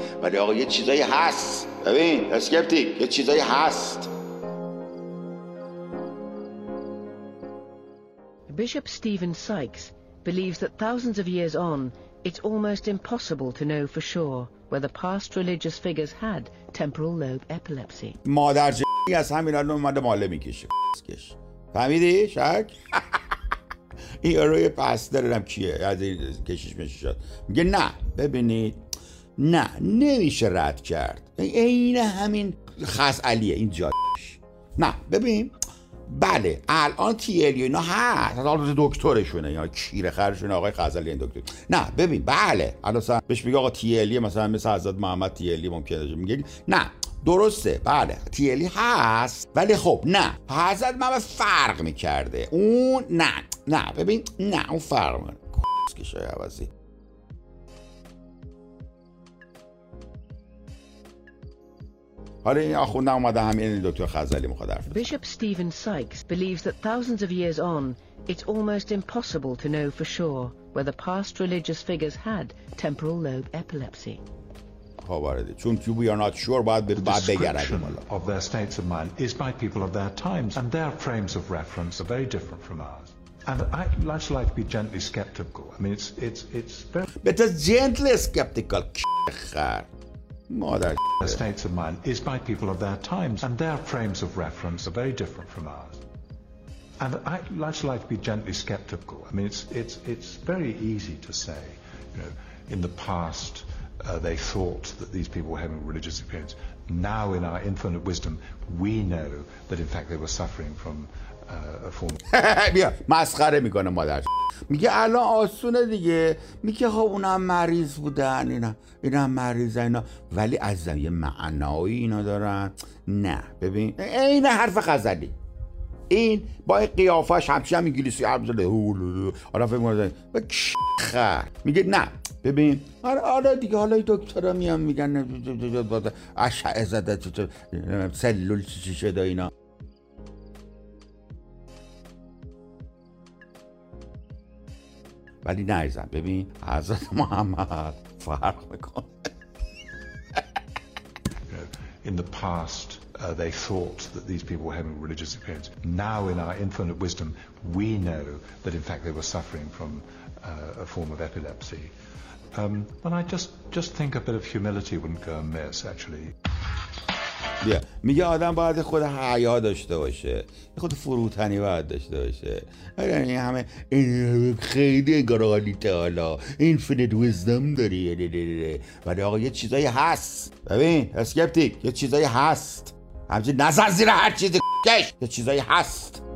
ولی آقا یه چیزایی هست. ببین اسکپتیک، یه چیزایی هست. Bishop Stephen Sykes believes that thousands of years on, it's almost impossible to know for sure whether past religious figures had temporal lobe epilepsy. مادر جنگی از همین الان اومده ماله میکشه. فهمیدی شک؟ این روی پس دارم کیه از این کشیش میشد. میگه نه ببینید نه نمیشه رد کرد. این همین خزعلیه این جادش. نه ببین بله الان تیلی اینا هست حالا دکترشونه یا کیره خرشونه آقای خزعلی این دکتر. نه ببین بله الان بهش میگه آقا تیلی مثلا مثل حضرت محمد تیلی ممکنه میگه نه درسته بله تیلی هست ولی خب نه حضرت محمد فرق میکرده اون نه ببین نه اون فرق میکنه که شای عوضی. حالا این آخوندم اومده همین دکتر خزعلی میخواد حرف بزنه. Bishop Stephen Sykes believes that thousands of years on, it's almost impossible to know for sure whether past religious figures had temporal lobe epilepsy. چون we are not sure باید description of their states of mind is by people of their times and their frames of reference are very different from ours. And I actually like to be gently skeptical. I mean it's very But it's gently skeptical. Mother. Their states of mind is by people of their times and their frames of reference are very different from ours. And I actually like to be gently skeptical. I mean it's very easy to say, you know, in the past they thought that these people were having religious experience. Now in our infinite wisdom we know that in fact they were suffering from a form. بیا مسخره میکنه مادر. میگه الان آسونه دیگه. میگه خب اونم مریض بودن اینا مریضن اینا ولی از یه معنایی اینا دارن. نه ببین این حرف غزلی این با قیافش همچین هم انگلیسی حرف زده حالا فکر می‌کنه میگه نه ببین آره دیگه حالا دکترا میان میگن اشعه زده سلول چی شده اینا. ولی نایزم ببین حضرت محمد فرق میکنه. In the past they thought that these people were having religious experience. Now in our infinite wisdom we know that in fact they were suffering from a form of epilepsy. And I just think a bit of humility wouldn't go amiss actually. میگه آدم باید خود حیا داشته باشه خود فروتنی باید داشته باشه. این همه خیلی انگارالیته حالا infinite wisdom داری ولی آقا یه چیزایی هست. ببین اسکپتیک یه چیزایی هست همچنین نظر زیر هر چیزی یه چیزایی هست.